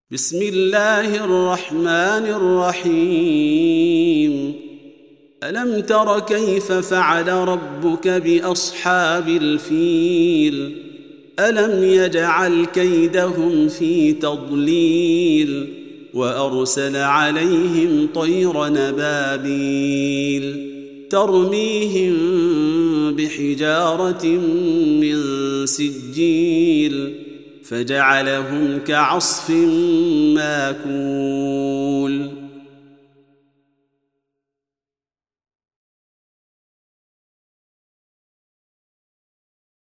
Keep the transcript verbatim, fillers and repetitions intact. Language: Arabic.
بسم الله الرحمن الرحيم ألم تر كيف فعل ربك بأصحاب الفيل ألم يجعل كيدهم في تضليل وأرسل عليهم طير نبابيل ترميهم بحجارة من سجيل فجعلهم كعصف ماكول